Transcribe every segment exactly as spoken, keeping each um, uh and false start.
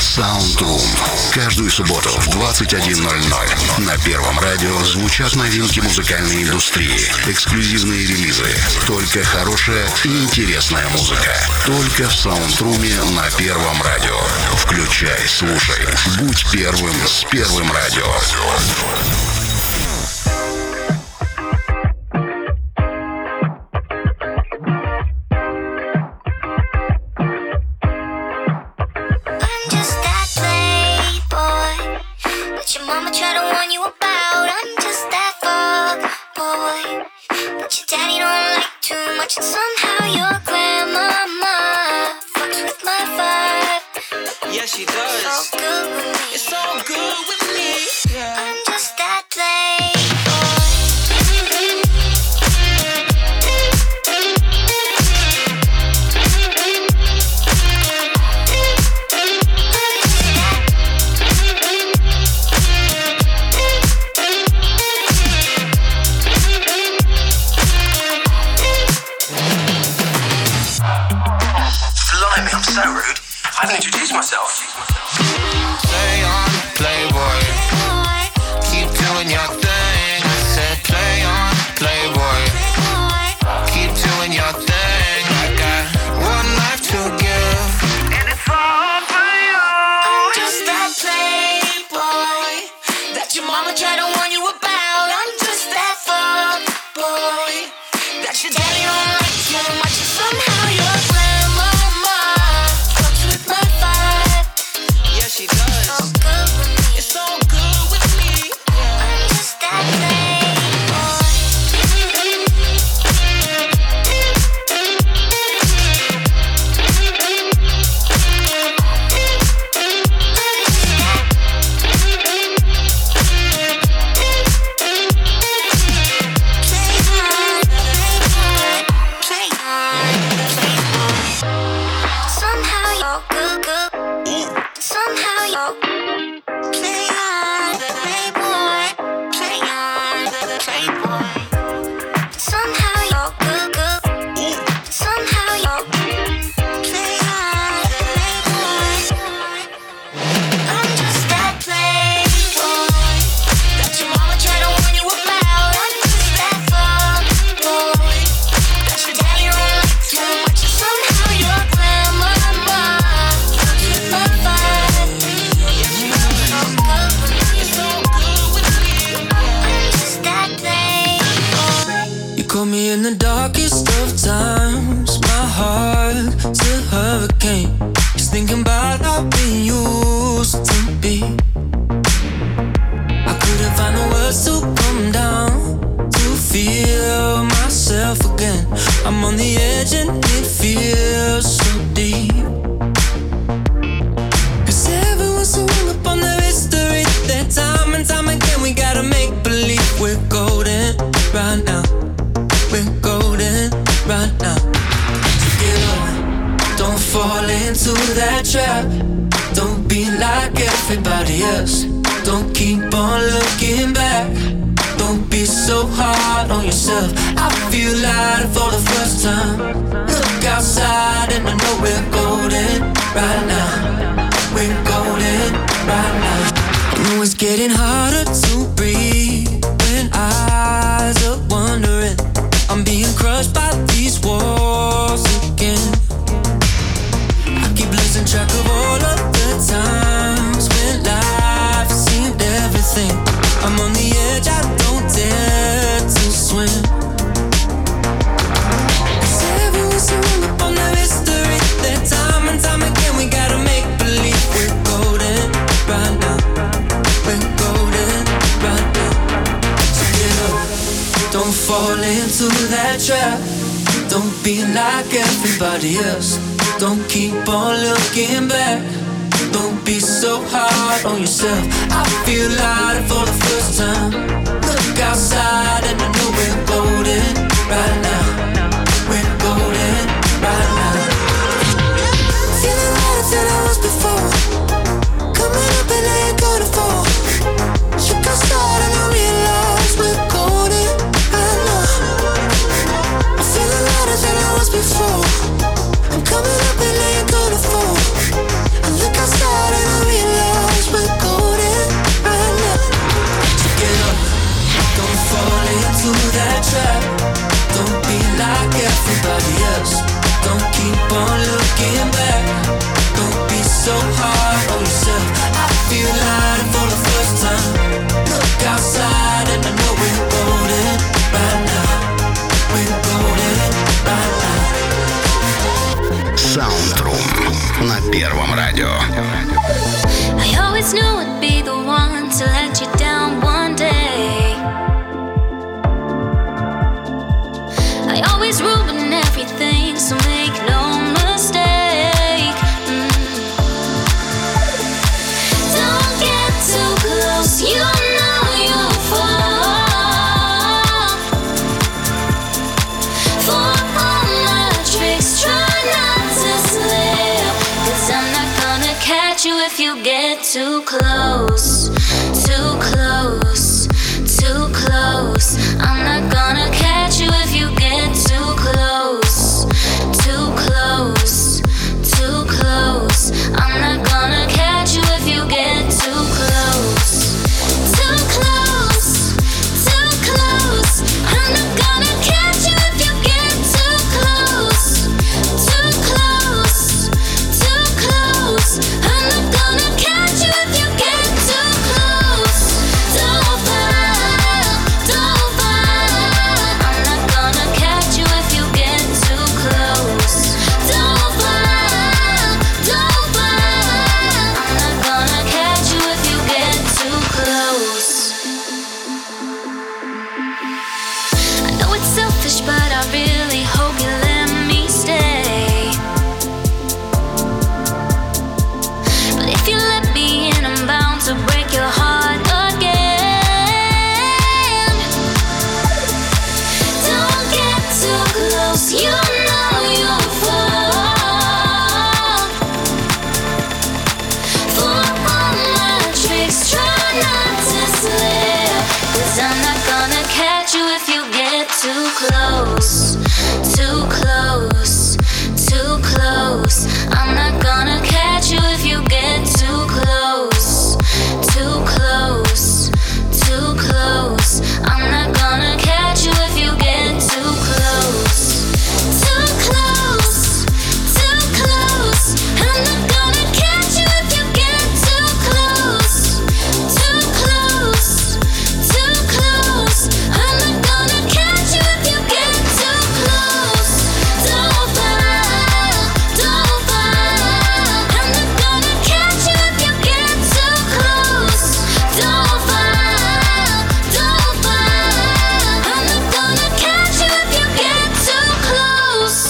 Soundroom. Каждую субботу в двадцать один ноль ноль на Первом радио звучат новинки музыкальной индустрии, эксклюзивные релизы, только хорошая и интересная музыка. Только в Саундруме на Первом радио. Включай, слушай, будь первым с Первым радио. Before I'm coming up and laying on the floor. I look outside and I Первом радио. I always knew I'd be the one to let you down one day. I always ruin everything, so make no mistake. Mm. Don't get too close, you know you'll fall for all my tricks. Try not to slip, 'cause I'm not gonna catch you if you get too close, too close, too close. I'm not gonna catch you if you get too close, too close, too close. I'm not gonna catch you if you get too close, too close, too close. I'm not gonna catch you if you get too close, too close, too close. I'm not gonna catch you if you get too close. Don't fall, don't fall. I'm not gonna catch you if you get too close. Don't fall, don't fall. I'm not gonna catch you if you get too close. I know it's selfish, but I really hope you let me stay. But if you let me in, I'm bound to break your heart again. Don't get too close, you know you'll fall for all my tricks. Try not to slip, 'cause I'm not gonna catch you if you get too close, too close, too close. I'm not gonna catch you if you get too close, too close, too close. I'm not gonna catch you if you get too close, too close, too close. I'm not gonna catch you if you get too close, too close, too close. I'm not gonna catch you if you get too close. Don't fall, don't fall. I'm not gonna catch you if you get too close. Don't fall, don't fall. I'm not gonna catch you if you get too close.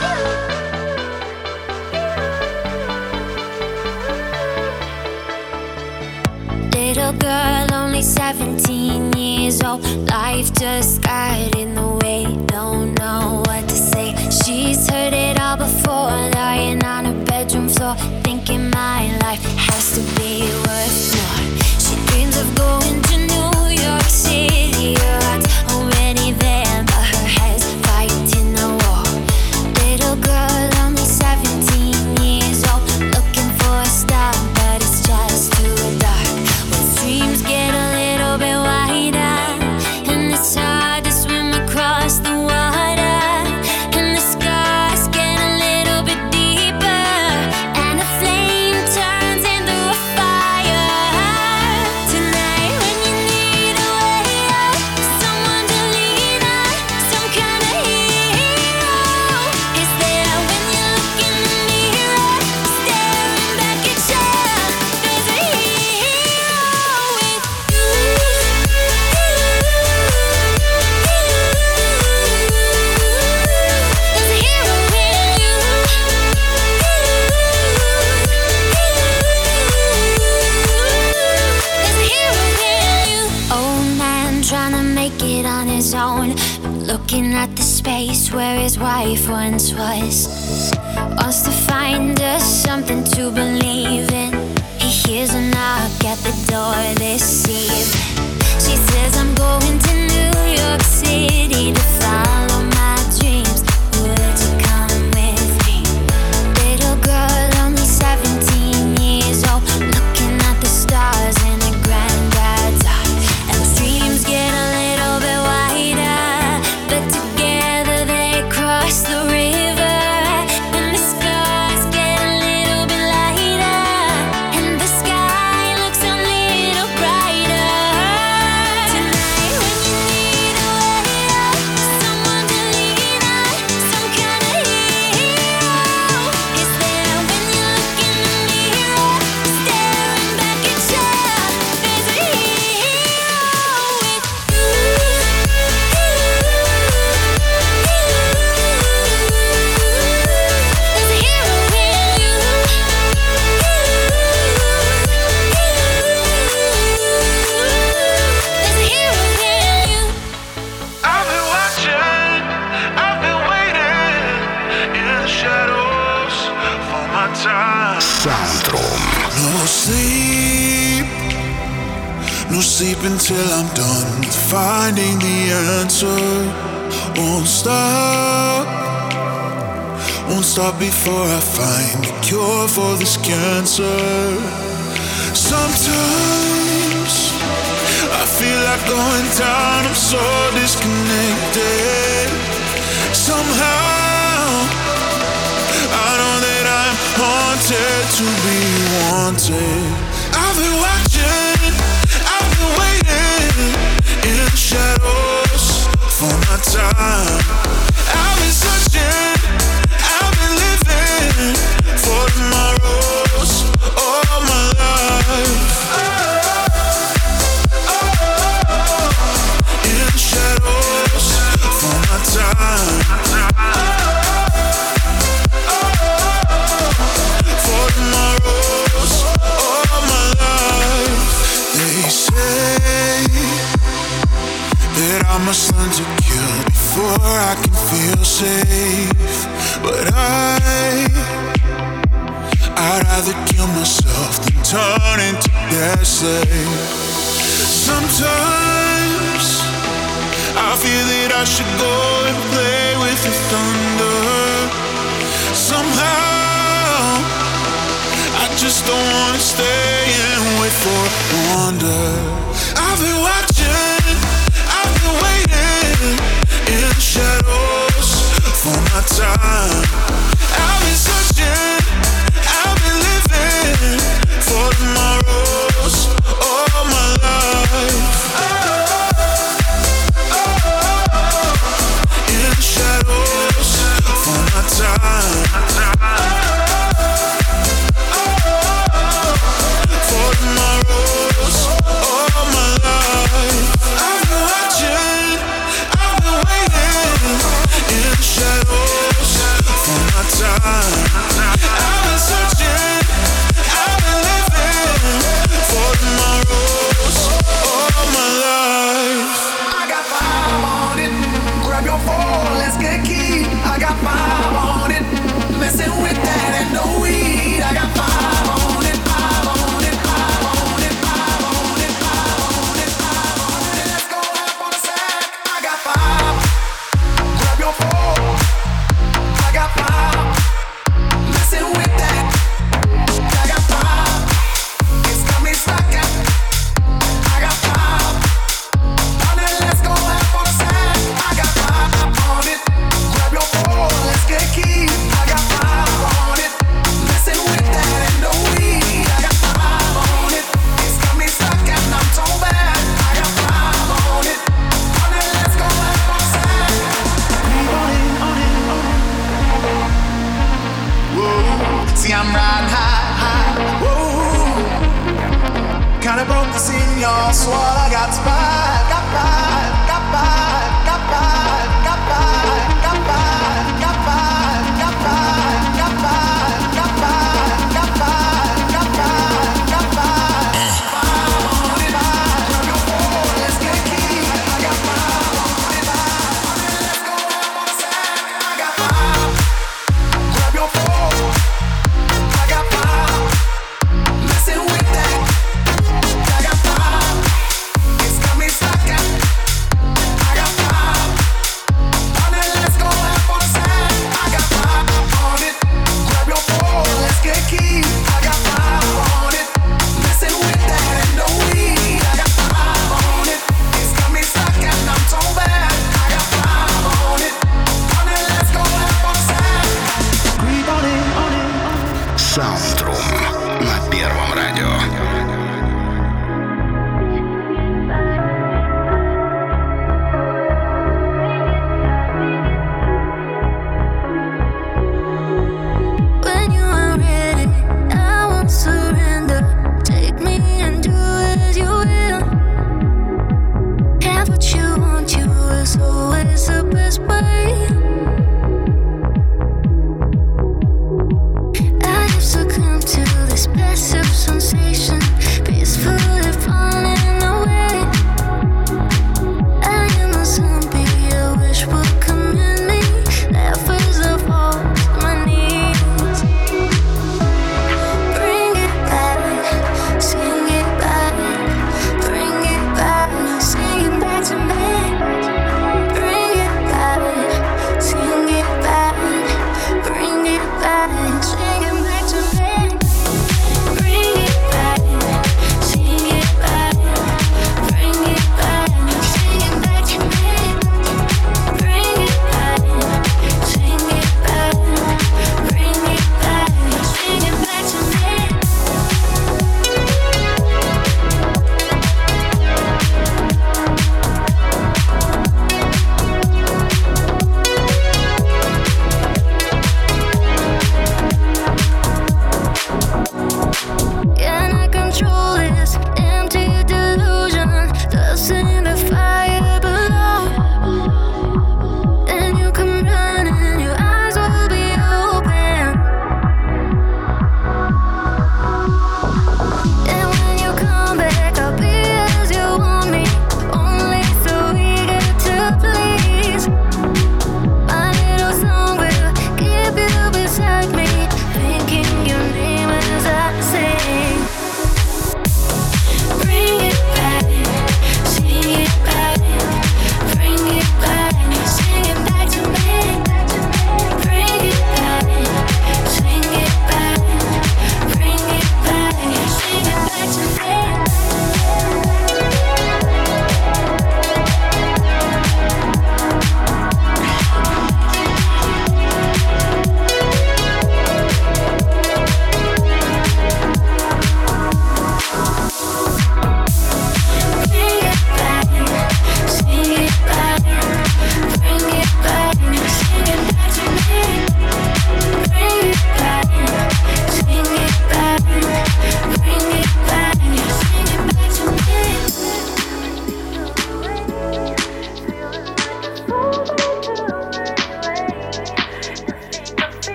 Little girl, only seventeen years old. Life just got in the way, don't know what to say. She's heard it all before, lying on her bedroom floor, thinking my life has to be worth more. She dreams of going to New York City. Her heart's already there, but her head's fighting a war. Little girl, only seventeen years old, looking for a star, but it's just too dark. When streams get a little bit wider, and it's hard to swim across the water, and the scars get a little bit deeper, and a flame turns into a fire. Tonight when you need a way out, someone to lean on, some kind of hero is there when you look in the mirror, staring back at you. There's a hero with you. There's a hero in you. There's a hero in you. Old man trying to make it on his own, looking at the space where his wife once was. Wants to find us something to believe in. He hears a knock at the door this evening. She says, I'm going to New York City to follow my dreams. Would you come with me? Little girl, only seventeen years old, looking at the stars in her granddad's art. And the dreams get a little bit wider, but together they cross the river. And the scars get a little bit lighter, and the sky looks a little brighter. Tonight when you need a way No sleep, no sleep until I'm done finding the answer. Won't stop, won't stop before I find a cure for this cancer. Sometimes I feel like going down, I'm so disconnected. Somehow I know that I'm haunted to be wanted. I've been watching, I've been waiting in the shadows for my time. I've been searching, I've been living for tomorrows all my life. In the shadows for my time. For tomorrows all my life. They say that I must learn to kill before I can feel safe. But I, I'd rather kill myself than turn into their slave. Sometimes I feel that I should go and play with the thunder. Somehow I just don't wanna stay and wait for wonder. I've been watching, I've been waiting in the shadows for my time. I've been searching, I've been living for tomorrows all my life. In the shadows for my time. For tomorrows all my life. I've been watching, I've been waiting in the shadows for my time. I've been searching, I've been living for tomorrows all my life. I got five on it. Grab your phone, let's get key. I got five on it. Messing with that and no weed. I got five on it. Five on it. Five on it. Five on it. Five on it. Five on it. Let's go half on a sack. I got five. Grab your phone. I got five. Messing with that. I got five. It's got me stuck at. I got five. On it, let's go half on a sack. I got five on it. Grab your phone, let's get key. I got five on it. Messing with that and no weed. I got five on it. It's got me stuck and I'm so bad. I got five on it. On it, let's go half on a sack. Keep on it, on it, on it. Whoa, see I'm riding high, high. Whoa, kinda broke the scene, y'all. Swore I got five, got five, got five, got five, got five, got five, got five, got five, got five, got five, got five, got five, got five. Five on it, five. Grab your phone, let's get key. I got five on it, five. On it, let's go half on a sack. I got five. Grab your phone. I got five. Messing with that. I got five.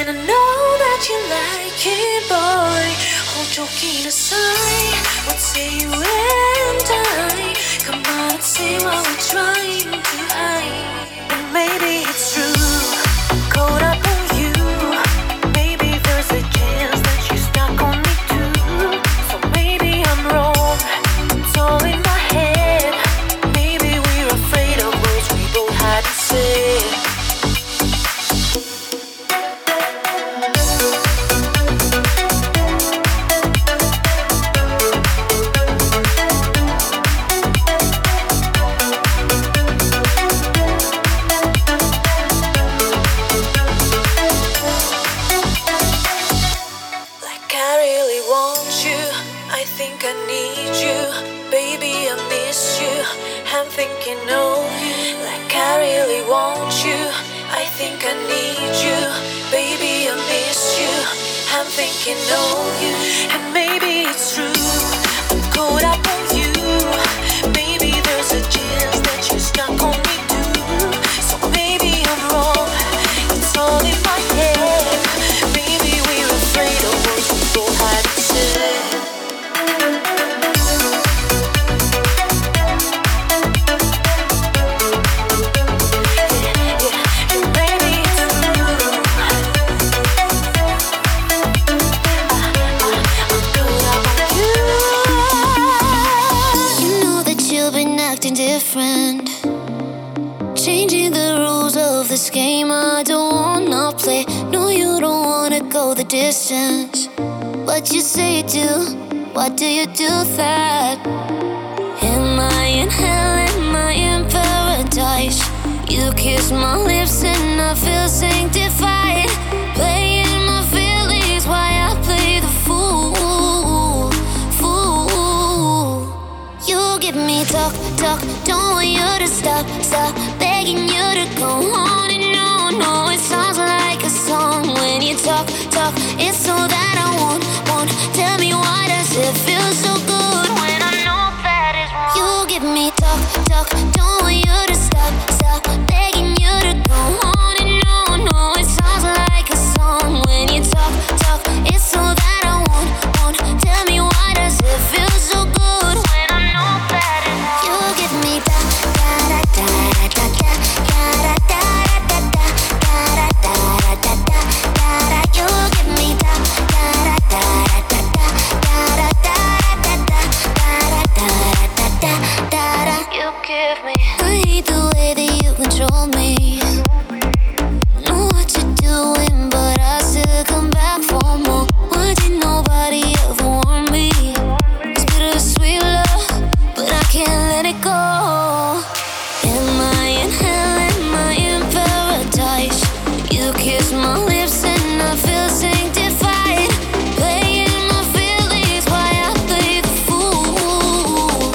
And I know that you like it, boy. All joking aside, what say you and I? Come on and say what we're trying to hide. And maybe it's true, I'm caught up on you. Maybe there's a chance that you're stuck on me too. So maybe I'm wrong, it's all in my head. Maybe we're afraid of words we both had to say. Thinking of you, and maybe it's true, I'm caught up on you. Maybe there's a chance that you're stuck on me too. So maybe I'm wrong, it's all in my head. Maybe we're afraid of what we both had to say. Different, changing the rules of this game I don't wanna play. No, you don't wanna go the distance, but you say you do. Why do you do that? Am I in hell? Am I in paradise? You kiss my lips and I feel sanctified. Playing my feelings while I play the fool. Fool. You give me talk, talk, don't want you to stop, stop. Begging you to go on and on. No, it sounds like a song when you talk, talk. It's all that I want, want. Tell me why does it feel so good when I know that it's wrong? You give me talk, talk, don't want you to stop, stop. Begging you to go on and on. No, it sounds like a song when you talk, talk. It's all that I want, want. Tell me why does it feel so good when I know that it's wrong? You give me da da da da da da da da da da da da da da da da. You give me da da da da da da da da da da da da da da. You give me. I hate the way that you control me. Know what you're doing, but I still come back for more. Why did nobody ever warn me? It's bittersweet love, but I can't let it go. Am I in hell? Am I in paradise? You kiss my lips and I feel sanctified. Playing my feelings while I play the fool.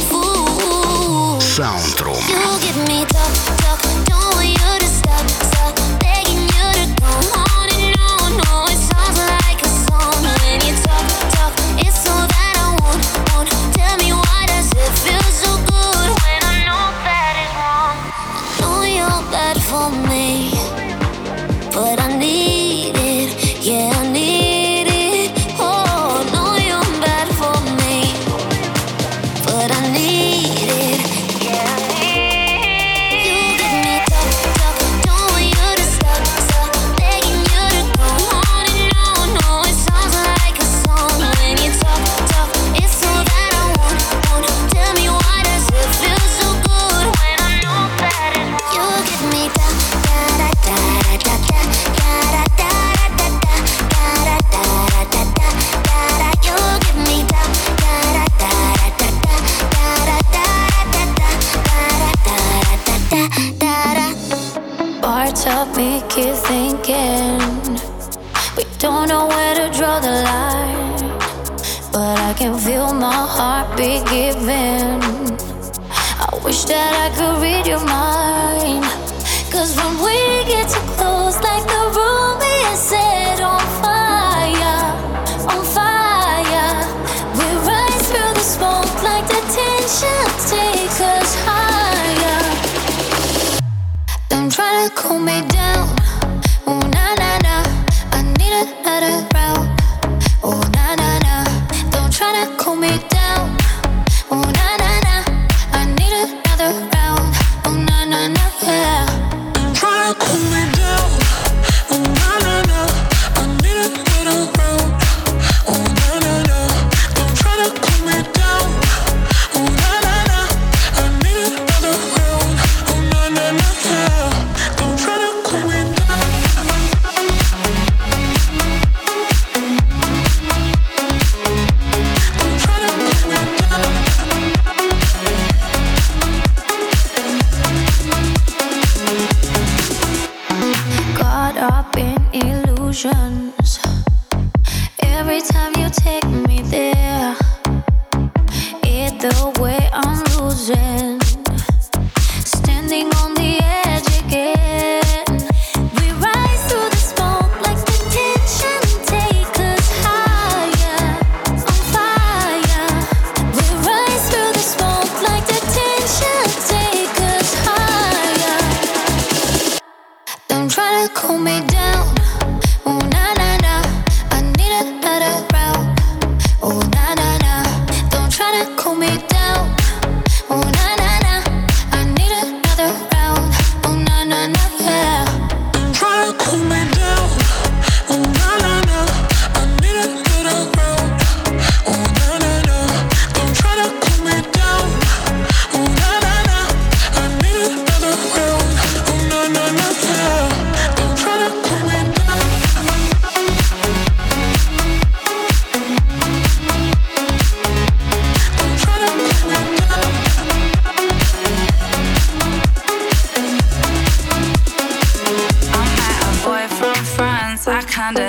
Fool. Soundroom. You give me talk, talk, don't want you to stop, stop. Begging you to go on and on. No, it sounds like a song when you talk, talk. It's all that I want, want. Tell me why does it feel so good when I know that it's wrong? I know you're bad for me, but I need it, yeah, I need it. Oh, I know you're bad for me, but I need it, yeah, I need it. You give me talk, talk, don't want you to stop, stop. Begging you to go on and on. No, it sounds like a song when you talk, talk. It's all that I want, want. Tell me why does it feel so good when I know that it's wrong? You give me da da da da da da da da da da da da da da da. You give me da da da da da da da da da da da da. Bar topic is thinking we don't know where to draw the line, but I can feel my heartbeat giving. I wish that I could read your mind, 'cause when we get too close, like the room is set on fire, on fire. We rise through the smoke like the tension takes us higher. Don't try to cool me down, oh na na na.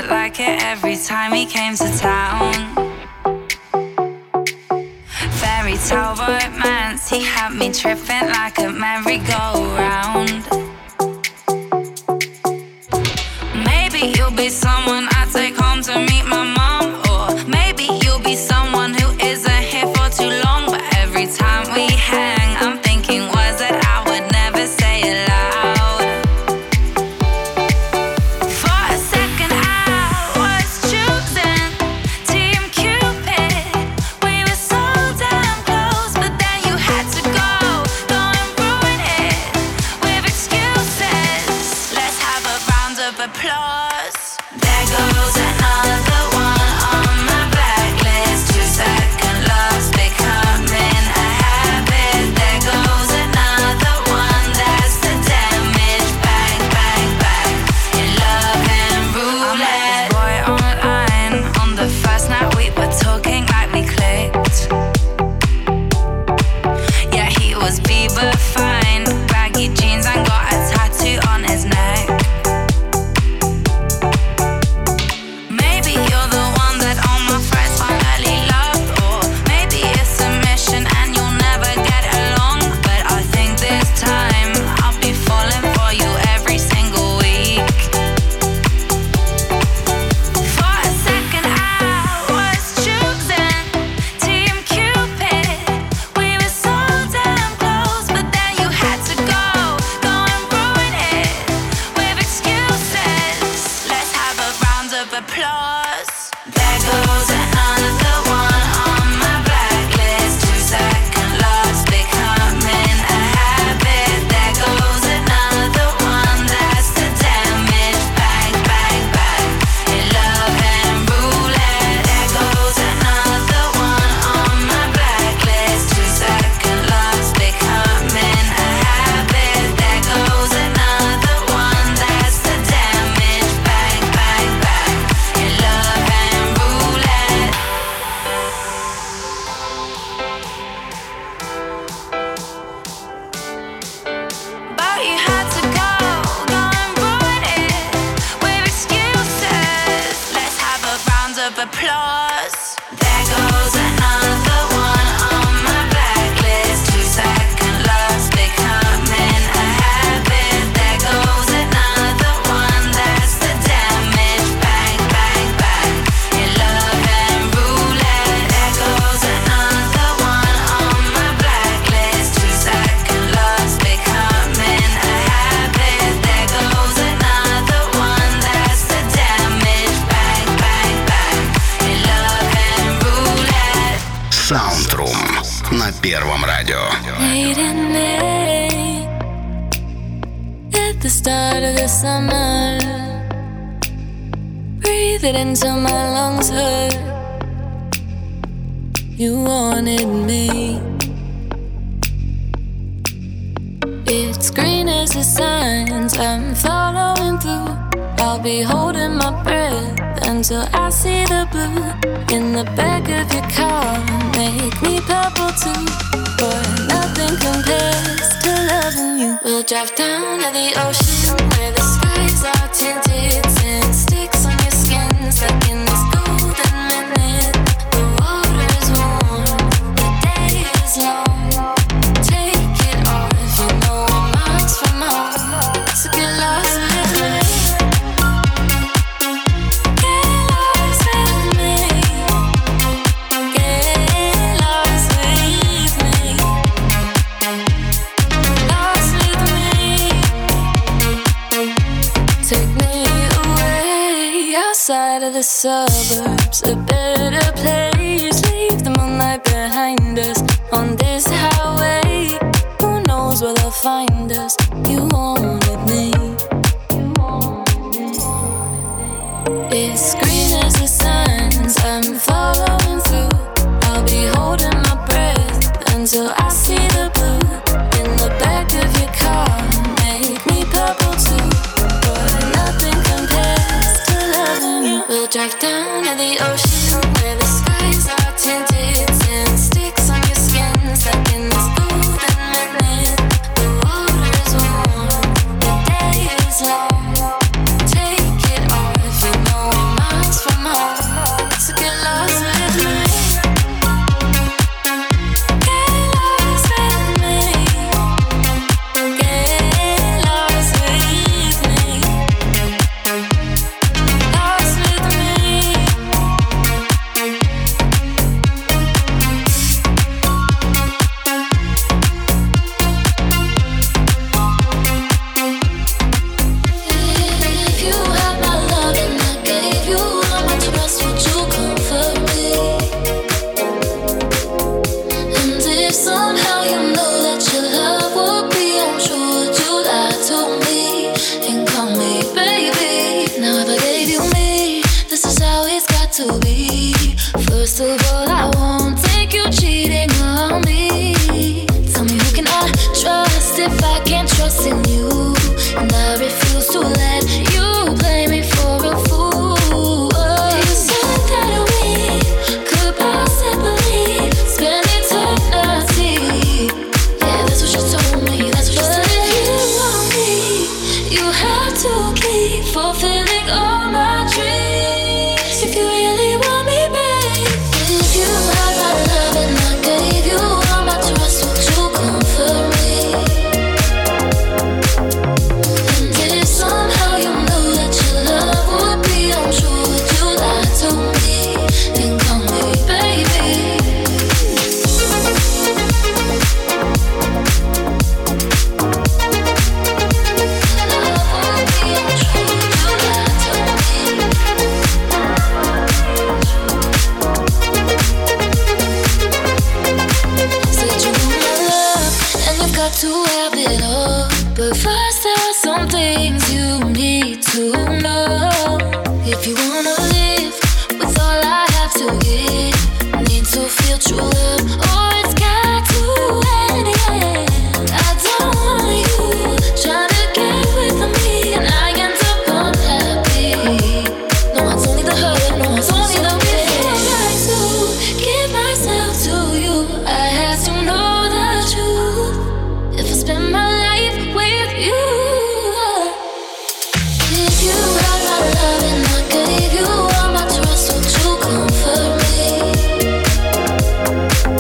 looked like it every time he came to town. Fairy tale romance, he had me tripping like a merry-go-round. Maybe you'll be someone I take home to meet my mom, or maybe you'll be someone who isn't here for too long. But every time we hang, I'm thinking words that I would never say aloud. For a second I was choosing Team Cupid. We were so damn close, but then you had to go, go and ruin it with excuses. Let's have a round of applause. There goes another one on my blacklist. Two second loves becoming a habit. There goes another one, that's the damage. Bang, bang, bang, in love and roulette. I met this boy online. On the first night we were talking like we clicked. Yeah, he was Bieber fine, baggy jeans and got a tattoo on his neck. Maybe you're the one that all my friends finally love, or maybe it's a mission and you'll never get along. But I think this time I'll be falling for you every single week. For a second I was choosing Team Cupid. We were so damn close, but then you had to go, go and ruin it with excuses. Let's have a round of applause. There goes another one on my blacklist. Two second loves becoming a habit. There goes another one, that's the damage. Bang, bang, bang, in love and roulette. There goes another one on my blacklist. Two second loves becoming a habit. There goes another one, that's the damage. Bang, bang, bang, in love and roulette. But you had to go, go and ruin it with excuses. Let's have a round of applause. There goes another one on my blacklist. Two second loves becoming a habit. There goes another one, that's the damage. Bang, bang, bang, in love and roulette. There goes another one on my blacklist. Two second loves becoming a habit. There goes another one, that's the damage. Bang, bang, bang, in love and roulette. Soundroom на Первом радио. Late at night, at the start of the summer, breathe it until my lungs hurt. You wanted me. It's green as the signs I'm following through. I'll be holding my breath until I see the blue in the back of your car. Make me purple too, but nothing compares to loving you. We'll drive down to the ocean where the skies are tinted. Sand sticks on your skin, stuck in this golden minute. The water is warm, the day is long. Take it off, you know I'm miles from home. So get lost with me. Get lost with me. Get lost with me. Lost with me. Take me away outside of the suburbs, a better place. Leave the moonlight behind us on this highway. Who knows where they'll find us? You wanted me. It's green as the signs I'm following through. I'll be holding my breath until I see the blue in the back of your car. Make me purple too, but nothing compares to loving you. We'll drive down to the ocean where the skies are tinted. Sand sticks on your skin, stuck in this golden minute. The water is warm, the day is long. Take it off, you know I'm trusting you, and I refuse to let you play me for a fool. You said that we could possibly spend eternity. Yeah, that's what you told me. That's what you said. But if you want me, you have to keep fulfilling all my dreams. If you really want me, babe. If you had my love and I gave you all my trust, would you comfort me? And if somehow you knew that your love would be untrue, would you lie to me and call me baby? Love would be untrue, would you lie to me? Said you want my love, and you've got to have it all. But first there are some things you need to know. If you wanna live with all I have to give, need to feel true love, or it's got to end. Yeah. I don't want you trying to get with me, and I end up unhappy. No, it's only the hurt, no, it's only the pain. I like to give myself to you, I have to know the truth. If I spend my life with you, if you had my love and I gave you all my trust, would you comfort me?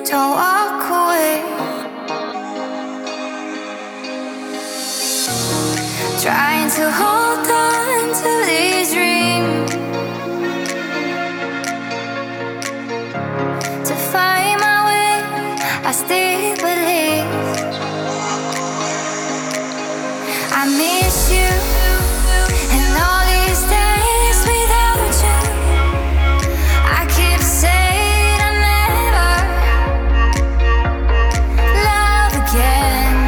don't walk away. Trying to hold on to these dreams, to find my way, I still believe. I miss you, and all these days without you, I keep saying I'll never love again.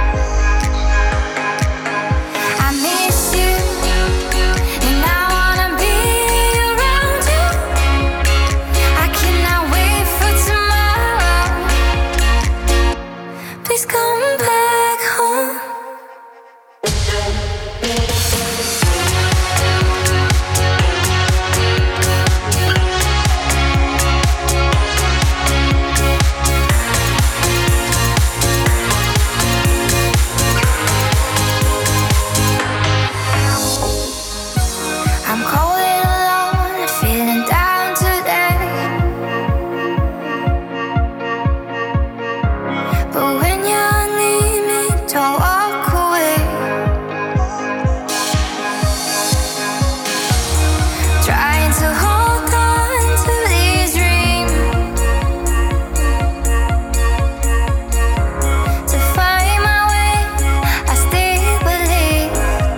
I miss you, and I wanna be around you. I cannot wait for tomorrow. Please come back home. I'm cold and alone, feeling down today. But when you need me, don't walk away. Trying to hold on to these dreams, to find my way, I still believe.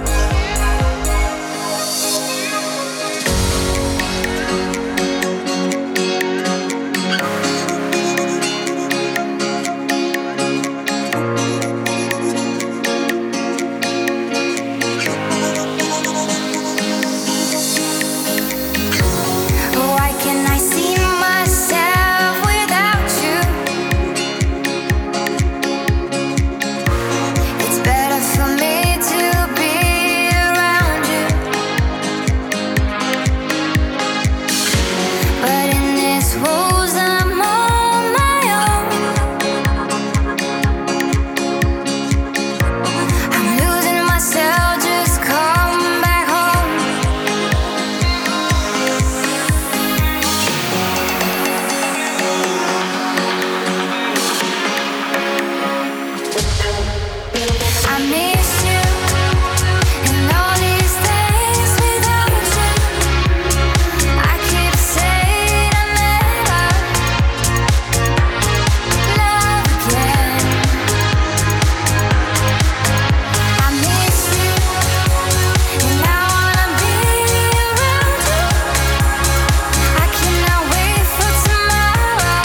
Why can't I see myself without you? It's better for me to be around you. But in this rose, I'm on my own. I'm losing myself, just come back home. I miss you, and all these days without you, I keep saying I'll never love again. I miss you, and I wanna be around you. I cannot wait for tomorrow.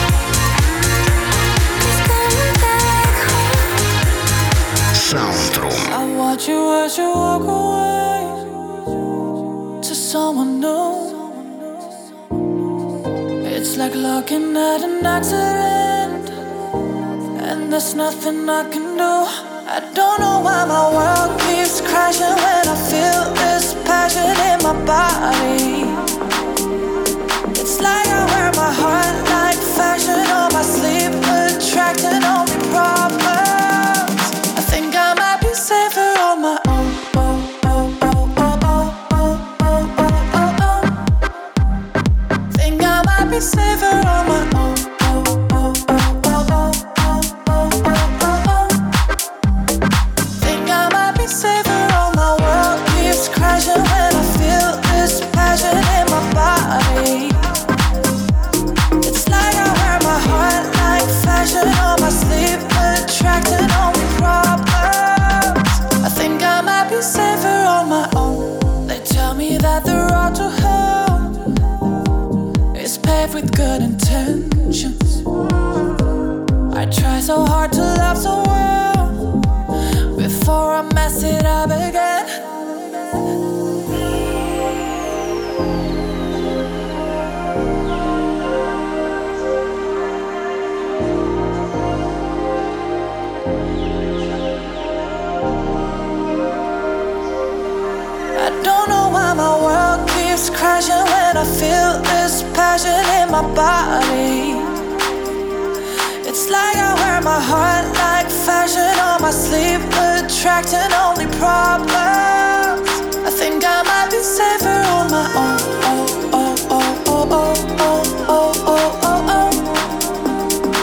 Please come back home. Soundroom. I watch you as you walk away to someone new. It's like looking at an accident, and there's nothing I can do. I don't know why my world keeps crashing when I feel this passion in my body. It's like I wear my heart like fashion on my sleeve, attracting only problems. I think I might be safer on my own. Oh, oh, oh, oh, oh, oh, oh, oh, oh. Think I might be safer on my own. Oh, oh, oh, oh, oh, oh, oh, oh, oh. Think I might be safer on my world keeps crashing when I feel this passion in my body. It's like I wear my heart like fashion on my sleeve, attracting only problems. I think I might be safer on my own. They tell me that the road to hell is paved with good intentions. I try so hard to love so well before I mess it up again. I don't know why my world keeps crashing when I feel this passion in my body. It's like I wear my heart like fashion on my sleeve, attracting only problems. I think I might be safer on my own. Oh, oh, oh, oh, oh, oh, oh, oh, oh, oh.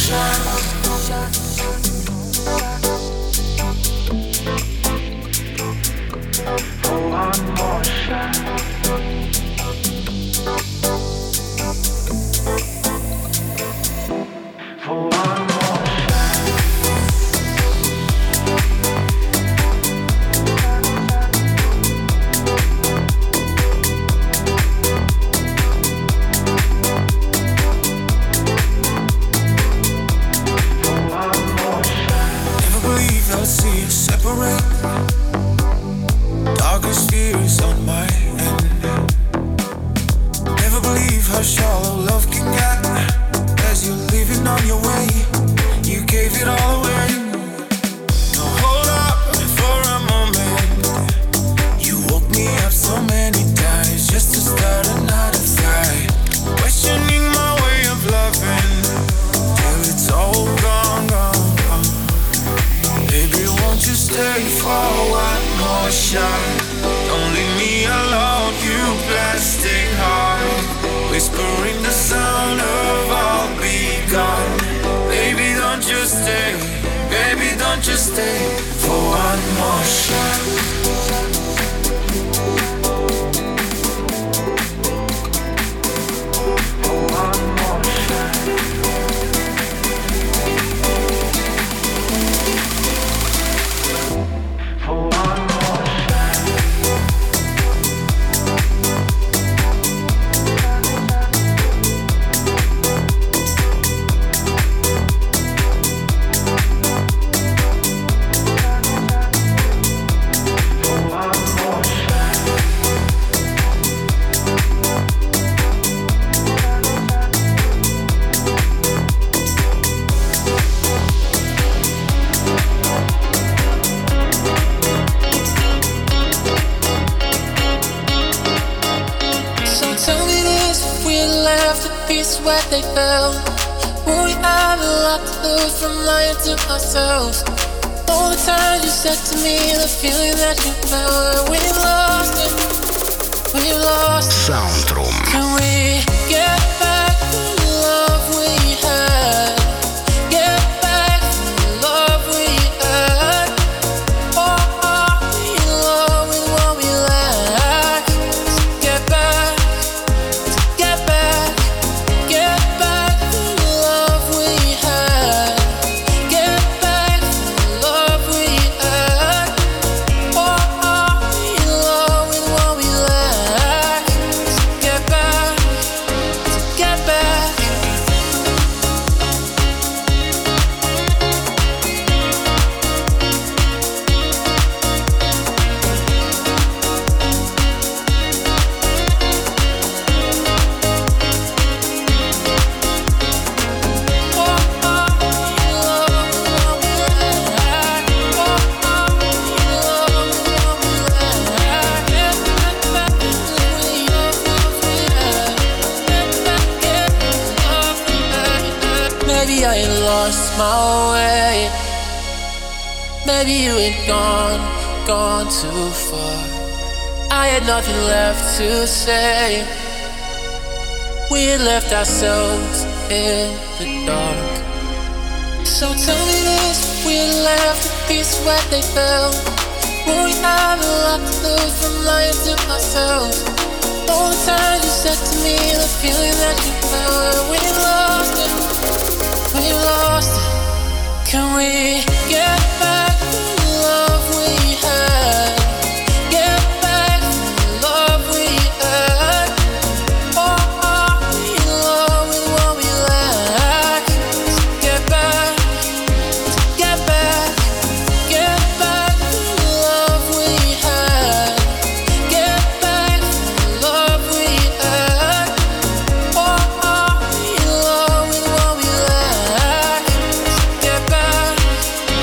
Where they fell, will we have a lot to lose from lying to ourselves? All the times you said to me, the feeling that you felt, we lost it, we lost it. Soundroom. Can we get back the love we had? Get back the love we had? Or are we in love with what we lack? So get back, to get back. Get back the love we had. Get back the love we had. Or are we in love with what we lack? So get back, to get back. Maybe I lost my way. Maybe you had gone, gone too far. I had nothing left to say. We had left ourselves in the dark. So tell me this, if we had left the pieces where they fell, would we have a lot to lose from lying to ourselves? All the times you said to me, the feeling that you felt, we lost it, we lost it. Can we get back the love we had? Get back the love we had? Or are we in love with what we lack? So get back, to get back. Get back the love we had. Get back the love we had. Or are we in love with what we lack? So get back, to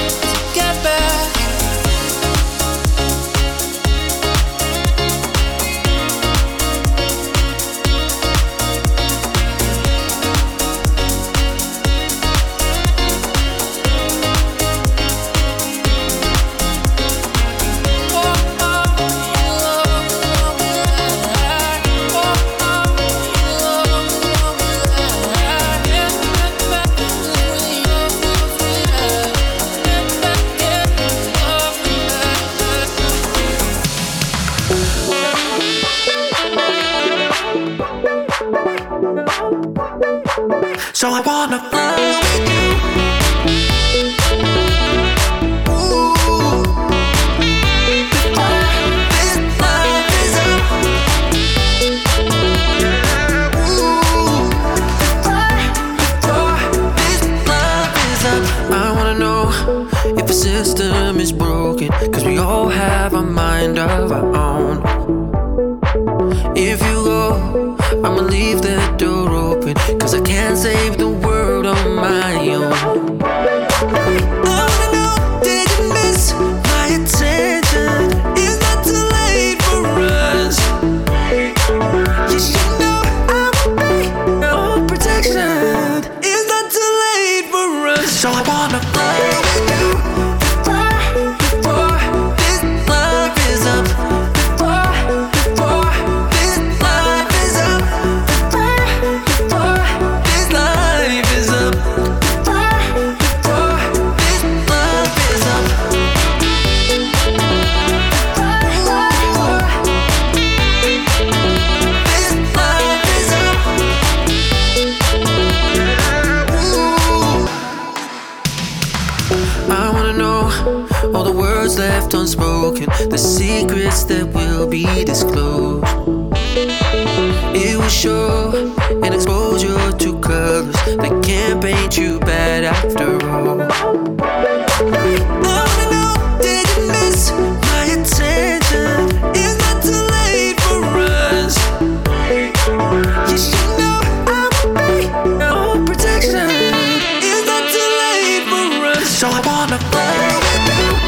So I wanna fly with you. If the system is broken, cause we all have a mind of our own. If you go, I'ma leave that door open, cause I can't save the world on my own. I wanna know, did you miss my attention? Is not too late for us. You should know I will be your protection. It's not too late for us. So I wanna fly with you. Left unspoken, the secrets that will be disclosed. It will show an exposure to colors that can't paint you bad after all. I wanna know, did you miss my attention? It's not too late for us. You should know I will be your protection. It's not too late for us. So I wanna fly with you.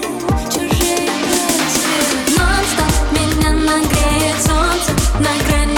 Нон-стоп меня нагреет солнце на грани.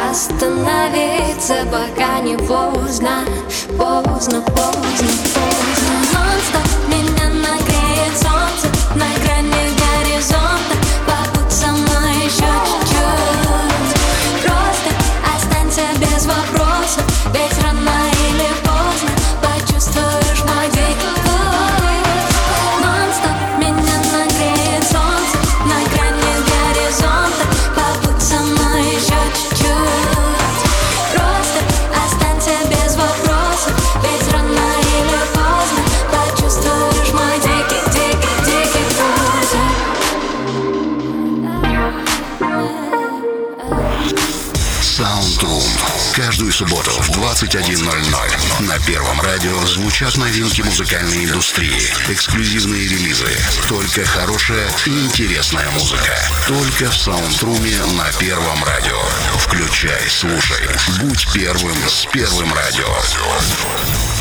остановиться, пока не поздно, поздно, поздно, поздно. Non-stop меня нагреет солнце на грани горизонта. Побудь со мной еще чуть-чуть. Просто останься без вопросов, ведь рано или поздно почувствуешь мой дикий пульс. Non-stop меня нагреет солнце на грани горизонта. Побудь со мной еще чуть-чуть. Просто останься без вопросов, ведь рано или поздно почувствуешь мой дикий, дикий, дикий пульс. Soundroom. Каждую субботу в двадцать один ноль ноль на Первом радио звучат новинки музыкальной индустрии, эксклюзивные релизы, только хорошая и интересная музыка. Только в Саундруме на Первом радио. Включай, слушай, будь первым с Первым радио.